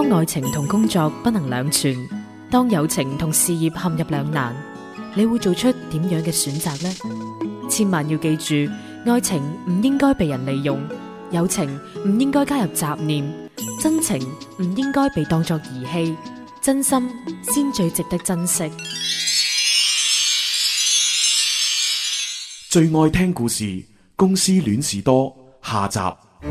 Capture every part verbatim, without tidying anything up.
當愛情同工作不能兩全，當友情同事業陷入兩難，你會做出點樣嘅選擇呢？千萬要記住，愛情唔應該被人利用，友情唔應該加入雜念，真情唔應該被當作兒戲，真心先最值得珍惜。 最愛聽故事，公司戀事多下集。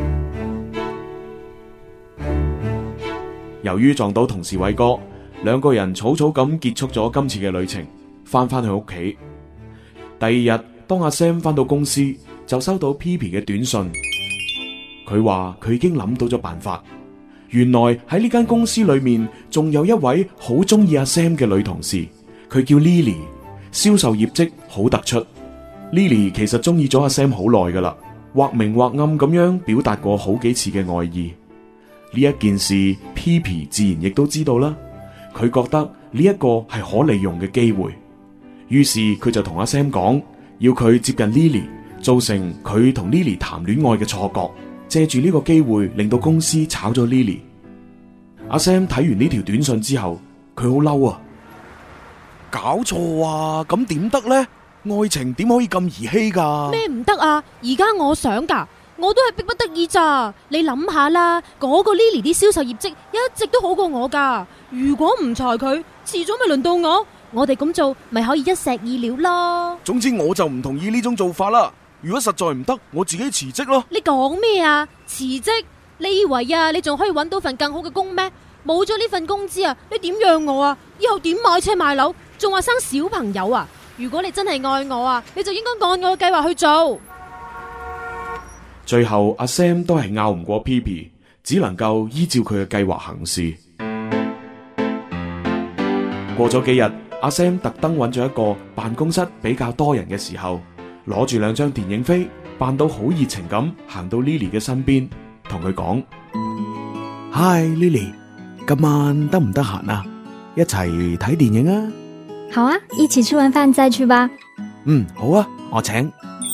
由於撞到同事偉哥，兩個人草草咁結束咗今次嘅旅程，翻返去屋企。第二日，當阿 Sam 翻到公司，就收到 P P 嘅短信。佢話佢已經諗到咗辦法。原來喺呢間公司裏面，仲有一位好中意阿 Sam 嘅女同事，佢叫 Lily， 銷售業績好突出。Lily 其實中意咗阿 Sam 好耐噶啦，或明或暗咁樣表達過好幾次嘅愛意。呢一件事 P P 自然亦都知道啦，佢覺得呢一個係可利用嘅機會，於是佢就同阿 Sam 講，要佢接近 Lily， 造成佢同 Lily 談戀愛嘅錯覺，借住呢個機會令到公司炒咗 Lily。阿 Sam 睇完呢條短信之後，佢好嬲啊！搞錯啊，咁點得呢？愛情點可以咁兒戲噶？ 咩唔得啊？而家我想噶，我都係逼不得已咋。你諗下啦，嗰個 Lily 啲銷售業績一直都好過我噶。如果唔裁佢，遲早咪輪到我。我哋咁做咪可以一石二鳥咯。 總之我就唔同意呢種做法啦。如果實在唔得，我自己辭職咯。 你講咩啊？辭職？你以為啊，你仲可以搵到份更好嘅工咩？冇咗呢份工資啊，你點養我啊？以後點買車買樓？仲話生小朋友啊？如果你真係愛我啊，你就應該按我嘅計劃去做。 最後阿 Sam 都係拗唔過 P P， 只能夠依照佢嘅計劃行事。過咗幾日，阿 Sam 特登揾咗一個辦公室比較多人嘅時候，攞住兩張電影飛，扮到好熱情咁行到 Lily 嘅身邊，同佢講：Hi Lily， 今晚得唔得閒啊？一齊睇電影啊！ 好啊，一起吃完飯再去吧。 嗯，好啊，我請。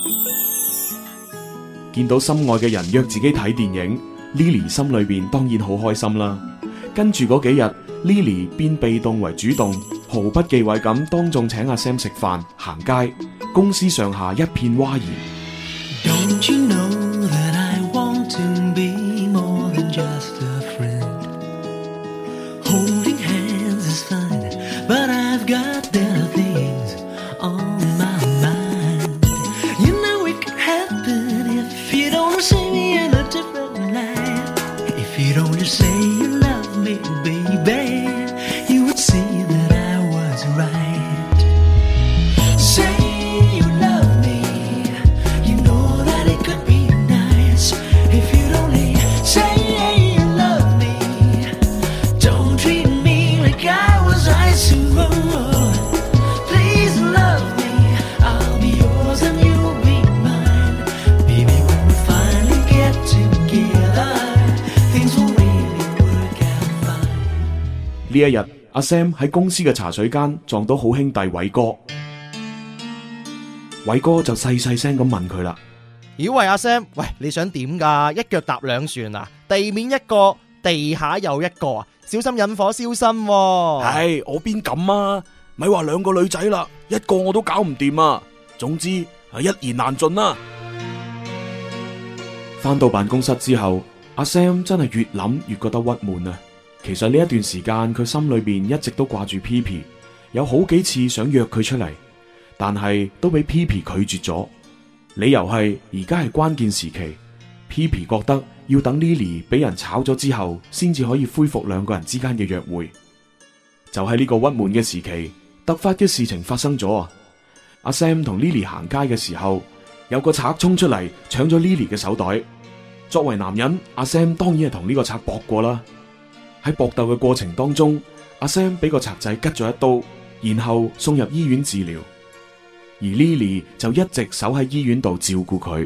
見到心愛嘅人約自己睇電影， Lily 心裏邊當然好開心啦。跟住嗰幾日 Lily 變被動為主動，毫不忌諱咁當眾請阿 Sam 食飯行街，公司上下一片嘩然。Don't you know that I want to be more than just a friend? Holding hands is fine, but I've got better things on my mind. You know it could happen if you don't see me in a different light. If you don't just say you love me, baby, you would see that I was right. Say you love me, you know that it could be nice. If you only say you love me, don't treat me like I was ice and roll. Please love me, I'll be yours and you'll be mine. Baby, when we finally get together, things will really work out fine. 呢一日，阿 Sam 喺公司嘅茶水間撞到好兄弟偉哥，偉哥就細細聲咁問佢啦： 咦喂，阿 Sam， 喂，你想點噶？一腳踏兩船啊！地面一個，地下又一個啊！小心引火燒身喎。 唉，我邊敢啊！咪話兩個女仔啦，一個我都搞唔掂啊！總之係一言難盡啦。翻到辦公室之後，阿 Sam 真係越諗越覺得鬱悶啊！其實呢一段時間佢心裏邊一直都掛住 P P， 有好幾次想約佢出嚟，但係都俾 P P 拒絕咗。理由係而家係關鍵時期， P P 覺得要等 Lily 俾人炒咗之後，先至可以恢復兩個人之間嘅約會。就喺呢個鬱悶嘅時期，突發嘅事情發生咗啊！阿 Sam 同 Lily 行街嘅時候，有個賊衝出嚟搶咗 Lily 嘅手袋。作為男人，阿 Sam 當然係同呢個賊搏過啦。喺搏鬥嘅過程當中，阿 Sam 俾個賊仔拮咗一刀，然後送入醫院治療，而 Lily 就一直守喺醫院度照顧佢。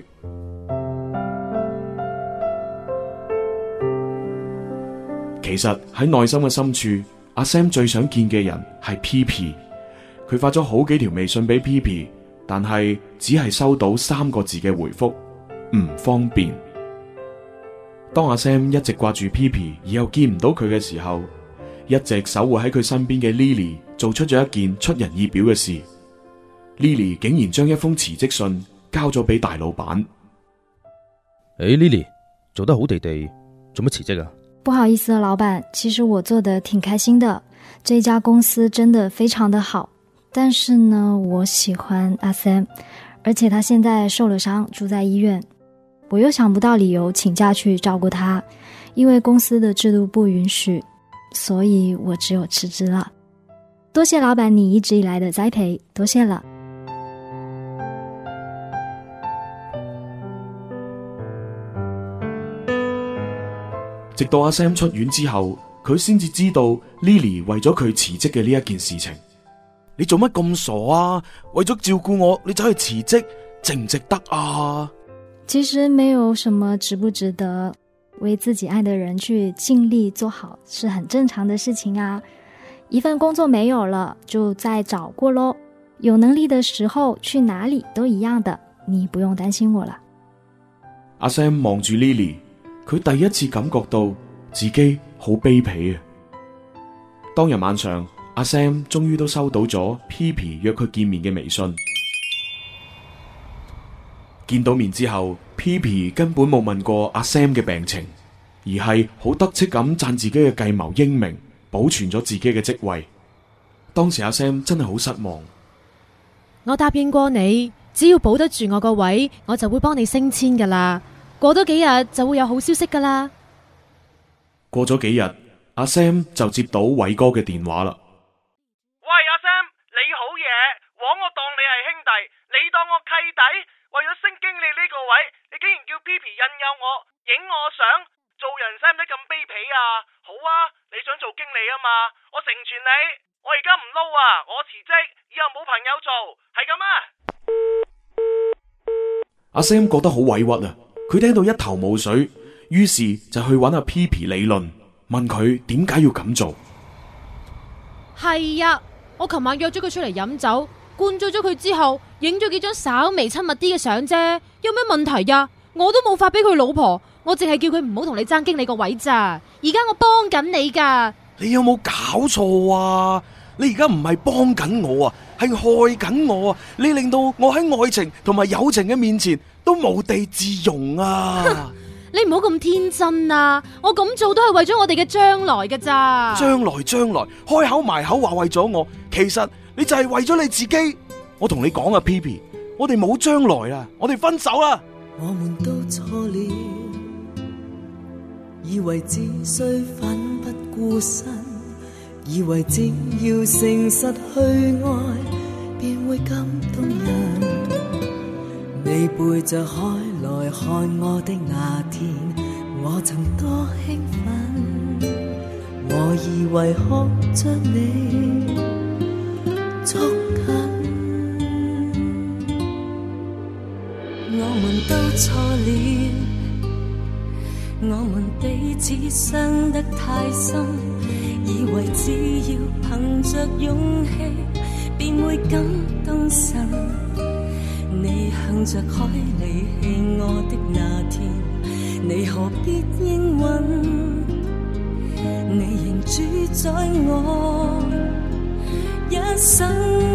其實喺內心嘅深處，阿 Sam 最想見嘅人係 P P。佢發咗好幾條微信俾 P P， 但係只係收到三個字嘅回覆：唔方便。 當阿 Sam 一直掛住 P P 而又見唔到佢嘅時候，一直守護喺佢身邊嘅 Lily 做出咗一件出人意表嘅事。Lily 竟然將一封辭職信交咗俾大老闆。 誒 Lily 做得好地地，做乜辭職啊？ 不好意思啊，老闆，其實我做得挺開心的，這家公司真的非常的好，但是呢，我喜歡阿 Sam， 而且他現在受了傷，住在醫院，我又想不到理由請假去照顧他，因為公司的制度不允許，所以我只有辭職了。多謝老闆你一直以來的栽培，多謝了。 直到阿 Sam 出院之後，佢先至知道 Lily 為咗佢辭職嘅呢一件事情。 你做乜咁傻啊？為咗照顧我，你走去辭職，值唔值得啊？ 其實沒有什麼值不值得，為自己愛的人去盡力做好是很正常的事情啊。一份工作沒有了，就再找過咯。有能力的時候去哪裡都一樣的，你不用擔心我了。 阿 Sam 望住 Lily， 佢第一次感覺到自己好卑鄙啊！當日晚上，阿 Sam 終於都收到咗 P P 約佢見面嘅微信。見到面之後 ，P P 根本冇問過阿 Sam 嘅病情，而係好得戚咁讚自己嘅計謀英明，保存咗自己嘅職位。當時阿 Sam 真係好失望。 我答應過你，只要保得住我個位，我就會幫你升遷噶啦。過多幾日就會有好消息噶啦。 過咗幾日，阿 Sam 就接到偉哥嘅電話啦。 喂，阿 Sam，你好嘢，枉我當你係兄弟，你當我契弟，為咗升經理呢個位，你竟然叫 P P 引誘我，影我相，做人使唔使咁卑鄙啊？好啊，你想做經理啊嘛，我成全你，我而家唔撈啊，我辭職，以後冇朋友做，係咁啊。 阿 Sam 覺得好委屈啊，佢聽到一頭霧水，於是就去揾阿 P P 理論，問佢點解要咁做。 係呀，我琴晚約咗佢出嚟飲酒，灌醉咗佢之後，影咗幾張稍微親密啲嘅相啫，有咩問題呀？我都冇發俾佢老婆，我淨係叫佢唔好同你爭經理個位咋。而家我幫緊你噶。 你有冇搞錯啊？你而家唔係幫緊我啊，係害緊我啊！你令到我喺愛情同埋友情嘅面前都無地自容啊！ 你唔好咁天真啊！我咁做都係為咗我哋嘅將來㗎咋。 將來將來，開口埋口話為咗我，其實你就係為咗你自己。我同你講啊 ，P P， 我哋冇將來啦，我哋分手啦。 我們都錯了，以為只需奮不顧身，以為只要誠實去愛，便會感動人。你背着海來看我的那天，我曾多興奮，我以為可將你捉緊。我們都錯了，我們彼此傷得太深，以為只要憑着勇氣，便會感動神。你向着海離棄我的那天，你何必應允？你仍主宰我一生。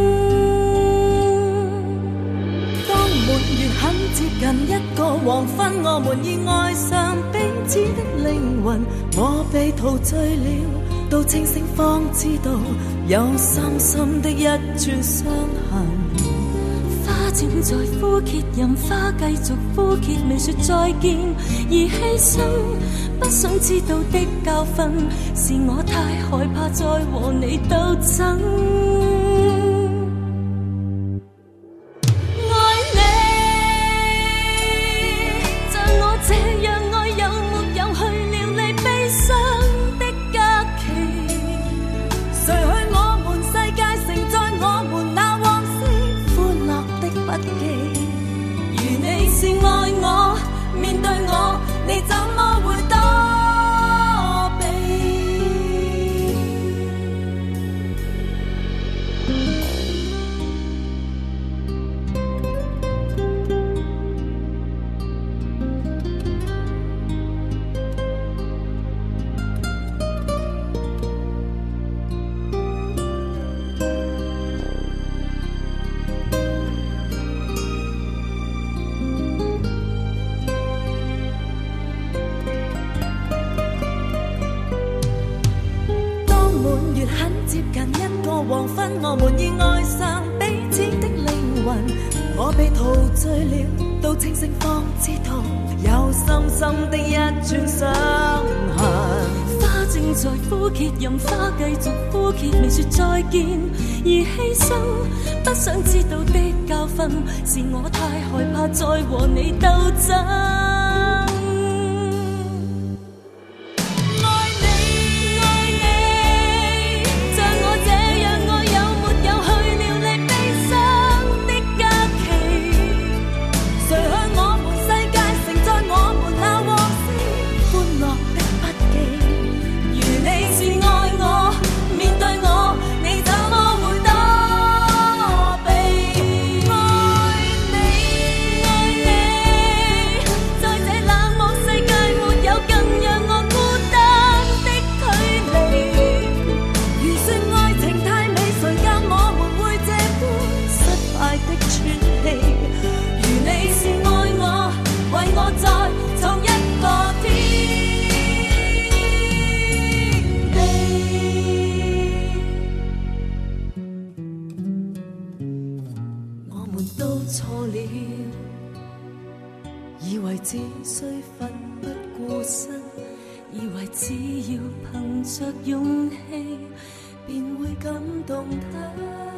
當滿月很接近一個黃昏，我們已愛上彼此的靈魂。我被陶醉了，到清醒方知道有深深的一串傷痕。花正在枯竭，任花繼續枯竭，未說再見而犧牲。不想知道的教訓，是我太害怕再和你鬥爭。 清醒方知道，有深深的一串傷痕。花正在枯竭，任花繼續枯竭，未說再見而犧牲。不想知道的教訓，是我太害怕再和你鬥爭。以為只需奮不顧身，以為只要憑着勇氣，便會感動他。